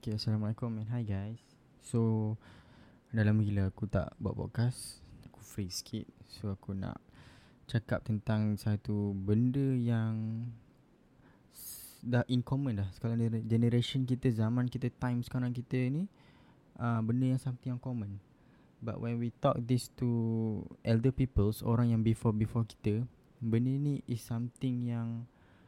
Okay, Assalamualaikum and hi guys. So, dah lama gila aku tak buat podcast. Aku free sikit. So, aku nak cakap tentang satu benda yang dah in common dah. Sekarang generation kita, zaman kita, time sekarang kita ni, benda yang something yang common. But when we talk this to elder peoples, orang yang before kita, benda ni is something yang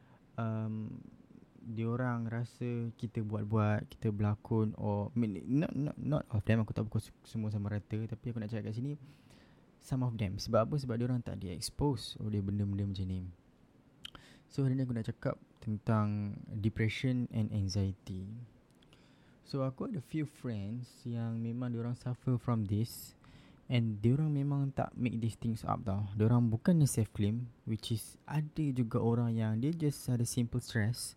diorang rasa kita buat-buat, kita berlakon, or not of them. Aku tak pukul semua sama rata, tapi aku nak cakap kat sini some of them. Sebab apa? Sebab diorang tak di-expose oleh benda-benda macam ni. So hari ni aku nak cakap tentang depression and anxiety. So aku ada few friends yang memang diorang suffer from this, and diorang memang tak make these things up tau. Diorang bukannya self-claim, which is ada juga orang yang dia just ada simple stress,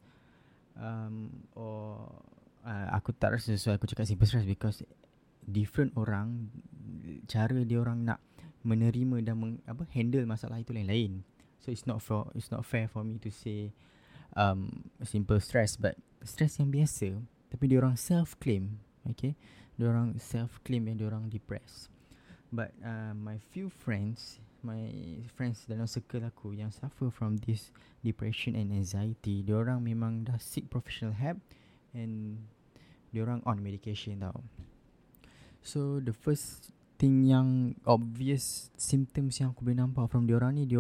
or aku tak rasa sesuai aku cakap simple stress, because different orang cara dia orang nak menerima dan handle masalah itu lain-lain. So it's not fair for me to say simple stress, but stress yang biasa tapi dia orang self claim. Okay, dia orang self claim yang dia orang depressed. But my friends dalam circle aku yang suffer from this depression and anxiety, diorang memang dah seek professional help and diorang on medication tau. So the first thing yang obvious symptoms yang aku boleh nampak from diorang ni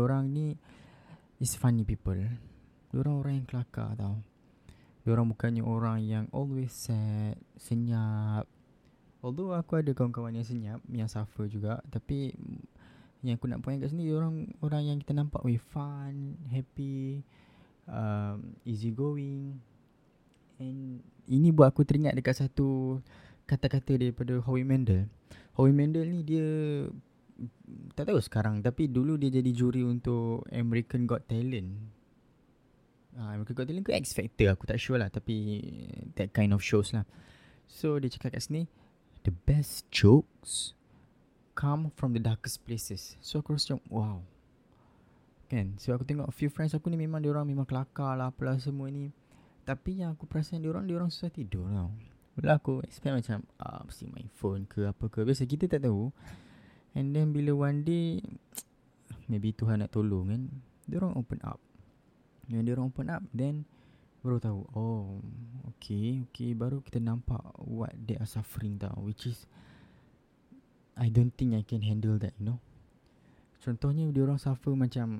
is funny people. Diorang orang yang kelakar tau. Diorang bukannya orang yang always sad, senyap. Although aku ada kawan-kawan yang senyap, yang suffer juga, tapi yang aku nak point kat sini, orang yang kita nampak fun, happy, easy going. And ini buat aku teringat dekat satu kata-kata daripada Howie Mandel. Howie Mandel ni dia tak tahu sekarang, tapi dulu dia jadi juri untuk American Got Talent. American Got Talent ke X Factor, aku tak sure lah, tapi that kind of shows lah. So dia cakap kat sini, the best jokes come from the darkest places. So aku rasa macam wow, kan? So aku tengok few friends aku ni memang diorang memang kelakar lah, apalah semua ni, tapi yang aku perasan diorang susah tidur tau. Bila aku expect macam mesti main phone ke apa ke, biasa kita tak tahu. And then bila one day maybe Tuhan nak tolong kan, diorang open up. When diorang open up, then baru tahu, oh okay, baru kita nampak what they are suffering tau, which is I don't think I can handle that, you know. Contohnya diorang suffer macam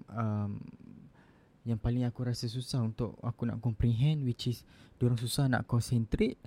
yang paling aku rasa susah untuk aku nak comprehend, which is diorang susah nak concentrate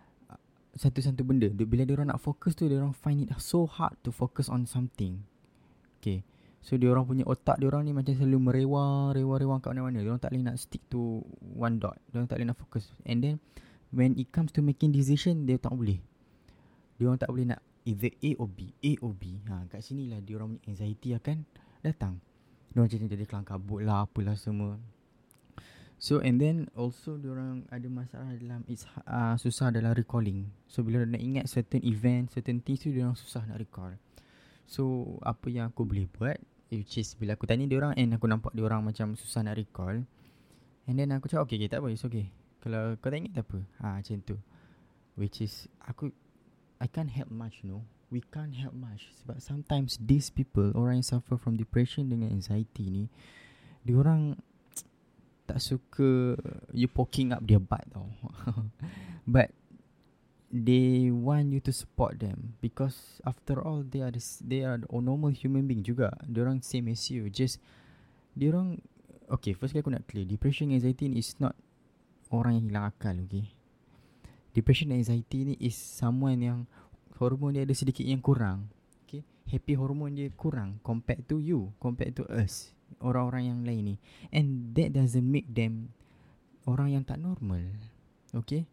satu benda. Bila diorang nak fokus tu, diorang find it so hard to focus on something. Okay, so diorang punya otak diorang ni macam selalu merewang kat mana-mana. Diorang tak boleh nak stick to one dot. Diorang tak boleh nak fokus. And then when it comes to making decision, dia tak boleh. Diorang tak boleh nak either A or B. Kat sini lah diorang punya anxiety akan datang. Diorang macam jadi kelang kabut lah, apalah semua. So and then also diorang ada masalah dalam susah dalam recalling. So bila nak ingat certain event, certain things tu, diorang susah nak recall. So apa yang aku boleh buat, which is bila aku tanya diorang and aku nampak diorang macam susah nak recall, and then aku cakap okay, tak apa, it's okay. Kalau kau tak ingat tak apa, macam tu. Which is I can't help much, you know. We can't help much. Sebab sometimes these people, orang yang suffer from depression dengan anxiety ni, diorang tak suka you poking up their butt tau. But they want you to support them, because after all they are normal human being juga. Diorang same as you. Just diorang, okay, first aku nak clear, depression anxiety ni is not orang yang hilang akal, okay. Depression anxiety ni is someone yang hormon dia ada sedikit yang kurang, okay. Happy hormon dia kurang compared to you, compared to us, orang-orang yang lain ni. And that doesn't make them orang yang tak normal, okay.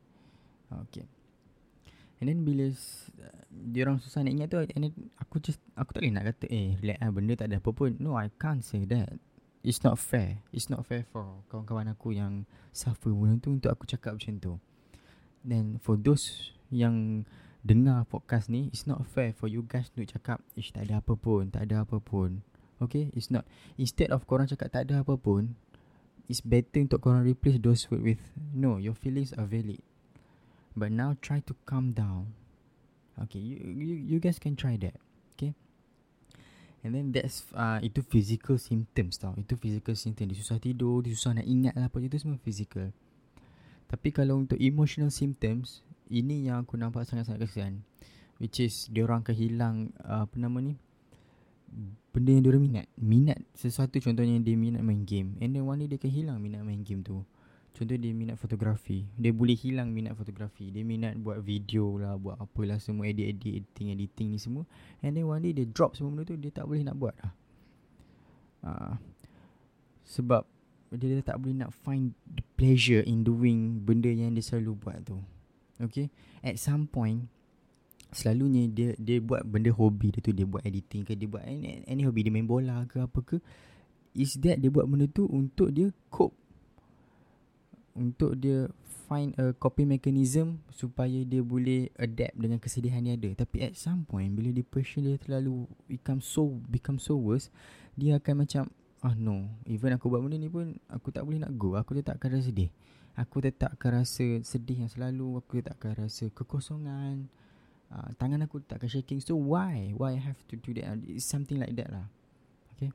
And then bila diorang susah nak ingat tu, and then aku tak boleh nak kata relax lah, benda tak ada apa pun. No, I can't say that. It's not fair for kawan-kawan aku yang suffer benda tu untuk aku cakap macam tu. Then for those yang dengar podcast ni, it's not fair for you guys to cakap tak ada apa pun. Okay, it's not. Instead of korang cakap tak ada apa pun, it's better untuk korang replace those words with no, your feelings are valid. But now try to calm down. Okay, you guys can try that. Okay. And then that's itu physical symptoms tau. Itu physical symptom. Dia susah tidur, dia susah nak ingat lah apa. Itu semua physical. Tapi kalau untuk emotional symptoms, ini yang aku nampak sangat-sangat kesian. Which is diorang akan hilang benda yang diorang minat sesuatu. Contohnya dia minat main game, and then one day dia akan hilang minat main game tu. Contohnya dia minat fotografi, dia boleh hilang minat fotografi. Dia minat buat video lah, buat apalah semua, editing ni semua. And then one day dia drop semua benda tu, dia tak boleh nak buat lah. Sebab dia tak boleh nak find the pleasure in doing benda yang dia selalu buat tu. Okay, at some point selalunya dia buat benda hobi dia tu. Dia buat editing ke, dia buat any hobi, dia main bola ke apa ke. Is that dia buat benda tu untuk dia cope, untuk dia find a coping mechanism supaya dia boleh adapt dengan kesedihan dia ada. Tapi at some point bila depression dia terlalu become so worse, dia akan macam no, even aku buat benda ni pun aku tak boleh nak go. Aku tetap akan rasa sedih. Aku tetap akan rasa sedih yang selalu. Aku tetap akan rasa kekosongan. Tangan aku tak akan shaking. So why I have to do that? It's something like that lah. Okay.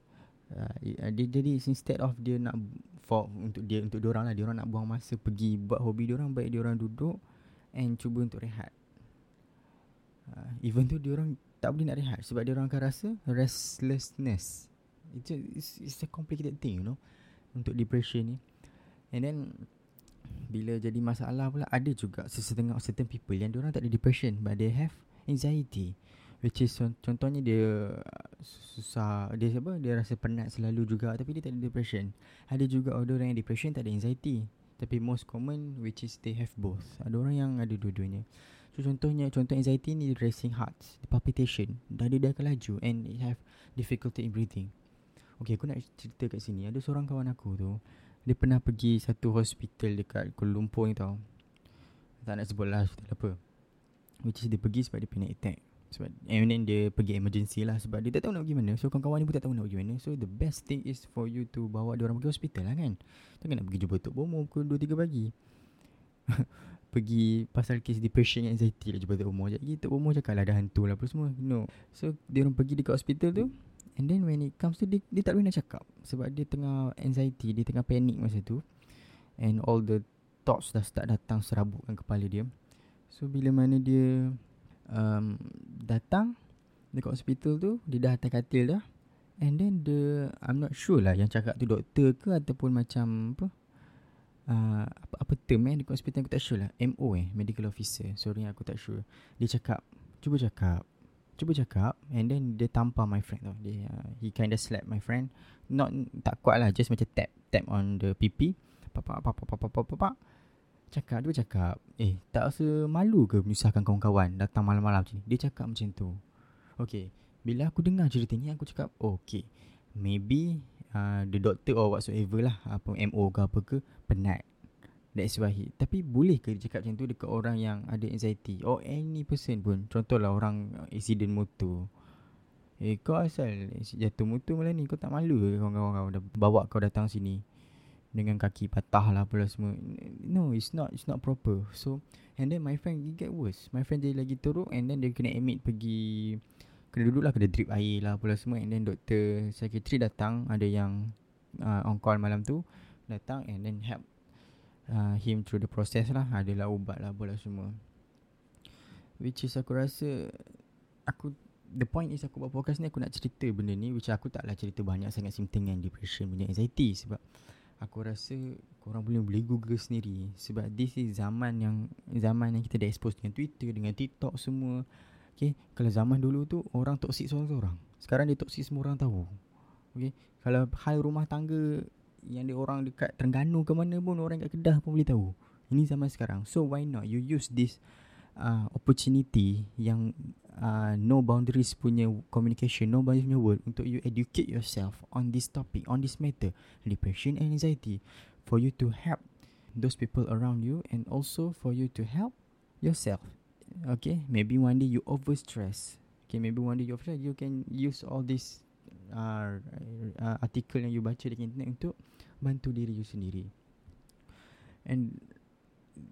Jadi instead of dia nak untuk diorang lah, diorang nak buang masa pergi buat hobi diorang, baik diorang duduk and cuba untuk rehat. Even tu diorang tak boleh nak rehat sebab diorang akan rasa restlessness. It's a complicated thing, you know, untuk depression ni. And then bila jadi masalah pula, ada juga certain people yang diorang tak ada depression but they have anxiety, which is contohnya dia susah, dia rasa penat selalu juga tapi dia tak ada depression. Ada juga orang yang depression tak ada anxiety, tapi most common which is they have both. Ada orang yang ada dua-duanya. So contoh anxiety ni racing hearts, palpitation, dada dia akan laju and it have difficulty in breathing. Okay, aku nak cerita kat sini. Ada seorang kawan aku tu, dia pernah pergi satu hospital dekat Kuala Lumpur ni tau. Tak nak sebut lah hospital apa, which is dia pergi sebab dia panic attack. And then dia pergi emergency lah sebab dia tak tahu nak pergi mana. So kawan-kawan ni pun tak tahu nak pergi mana. So the best thing is for you to bawa diorang pergi hospital lah kan. Takkan nak pergi jumpa Tok Bomo pukul 2-3 pagi. Pergi pasal kes depression and anxiety lah jumpa Tok Bomo. Jadi Tok Bomo cakap lah ada hantu lah apa semua. No. So diorang pergi dekat hospital tu, and then when it comes to dia tak boleh nak cakap sebab dia tengah anxiety, dia tengah panik masa tu. And all the thoughts dah start datang serabutkan kepala dia. So bila mana dia datang dekat hospital tu, dia dah atas katil dah. And then I'm not sure lah yang cakap tu doktor ke ataupun macam apa term dekat hospital, aku tak sure lah. MO medical officer, sorry aku tak sure. Dia cakap cuba cakap, and then dia tampar my friend tau. He kind of slap my friend, tak kuat lah, just macam tap on the pipi. Cakap tak rasa malu ke menyusahkan kawan-kawan datang malam-malam macam ni? Dia cakap macam tu. Okay, bila aku dengar cerita ni, aku cakap okay, maybe the doctor or whatsoever lah, apa MO ke apa ke, penat. That's why tapi boleh ke dia cakap macam tu dekat orang yang ada anxiety or any person pun? Contohlah orang accident motor. Kau asal jatuh motor malam ni, kau tak malu ke kawan-kawan kau dah bawa kau datang sini dengan kaki patah lah apalah semua? No, it's not proper. So and then my friend get worse. My friend dia lagi teruk, and then dia kena admit, kena duduk lah, kena drip air lah apalah semua. And then doktor psychiatry datang, ada yang on call malam tu datang, and then help him through the process lah. Adalah ubat lah apalah semua, which is aku rasa the point is aku buat podcast ni, aku nak cerita benda ni, which aku taklah cerita banyak sangat simptom yang depression punya anxiety, sebab aku rasa korang boleh google sendiri. Sebab this is zaman yang kita dah expose dengan Twitter, dengan TikTok semua. Okay, kalau zaman dulu tu orang toksik seorang-seorang, sekarang dia toksik semua orang tahu. Okay, kalau hal rumah tangga yang dia orang dekat Terengganu ke mana pun, orang kat Kedah pun boleh tahu. Ini zaman sekarang. So why not you use this opportunity yang no boundaries punya communication, no boundaries punya world, untuk you educate yourself on this topic, on this matter, depression and anxiety, for you to help those people around you, and also for you to help yourself. Okay, maybe one day you overstress. Okay, maybe one day you overstress, you can use all this artikel yang you baca di internet untuk bantu diri you sendiri. And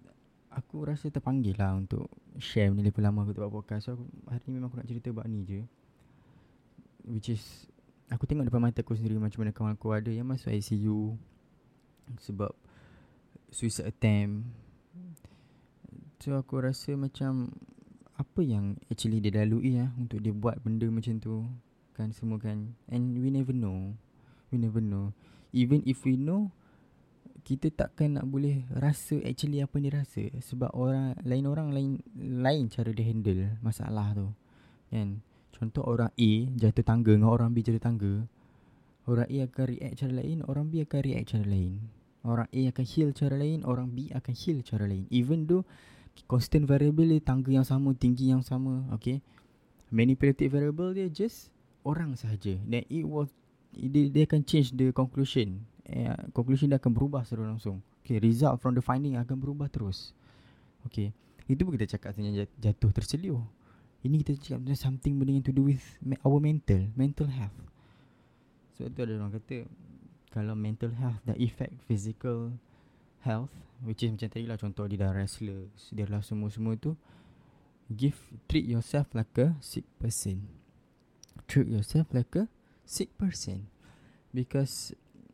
aku rasa terpanggil lah untuk share benda lepas lama aku tak buat podcast. So hari ni memang aku nak cerita buat ni je, which is aku tengok depan mata aku sendiri macam mana kawan aku ada yang masuk ICU sebab suicide attempt. So aku rasa macam apa yang actually dia lalui untuk dia buat benda macam tu kan, semua kan. And we never know. Even if we know, kita takkan nak boleh rasa actually apa dia rasa, sebab orang lain cara dia handle masalah tu kan. Contoh orang A jatuh tangga dengan orang B jatuh tangga, orang A akan react cara lain, orang B akan react cara lain. Orang A akan heal cara lain, orang B akan heal cara lain. Even though constant variable dia tangga yang sama, tinggi yang sama, okay. Manipulative variable dia just orang sahaja. Then dia akan change the conclusion. Conclusion dia akan berubah secara langsung. Okay, result from the finding akan berubah terus. Okay, itu pun kita cakap tentang jatuh terseluh. Ini kita cakap tentang something benda yang to do with our mental health. So tu ada orang kata, kalau mental health dah affect physical health, which is macam tadi lah, contoh dia dah restless, dia dah semua tu, treat yourself like a sick person. Treat yourself like a sick person, because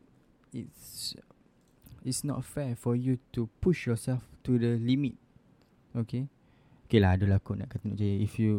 it's not fair for you to push yourself to the limit. Okay lah, adalah aku nak kata je, if you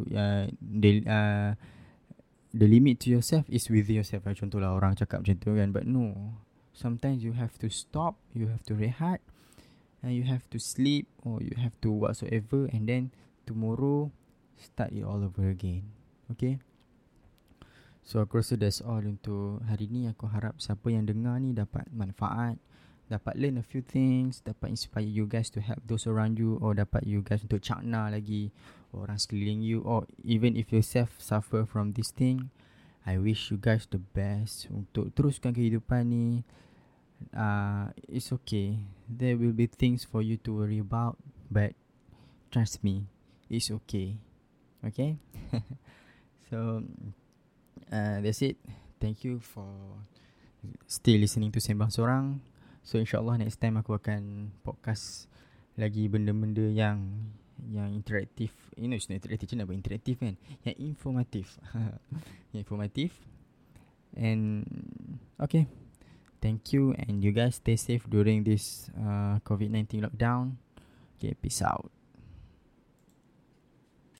the limit to yourself is with yourself lah. Contoh lah orang cakap macam tu kan, but no, sometimes you have to stop, you have to rehat, and you have to sleep, or you have to whatsoever, and then tomorrow start it all over again. Okay, so aku rasa that's all untuk hari ni. Aku harap siapa yang dengar ni dapat manfaat, dapat learn a few things, dapat inspire you guys to help those around you, or dapat you guys untuk cakna lagi orang sekeliling you, or even if yourself suffer from this thing, I wish you guys the best untuk teruskan kehidupan ni. It's okay, there will be things for you to worry about, but trust me, it's okay. Okay. So that's it. Thank you for still listening to Sembang Sorang. So insyaAllah next time aku akan podcast lagi benda-benda yang interaktif. It's not interaktif, macam nak buat interaktif kan, yang informatif. Yang informatif. And okay, thank you, and you guys stay safe during this COVID-19 lockdown. Okay, peace out.